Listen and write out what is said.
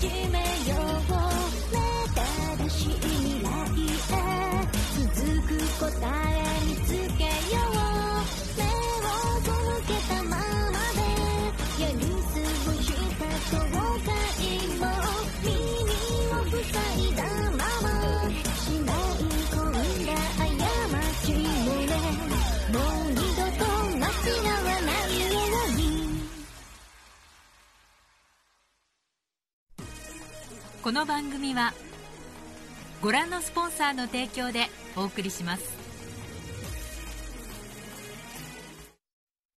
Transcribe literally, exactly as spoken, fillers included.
始めよう。目正しい未来へ続く答え見つけよう。目を背けたままでやり過ごした後悔も耳を塞いだまましまい込んだ過ちもね、もう二度と間違わないように。 この番組はご覧のスポンサーの提供でお送りします。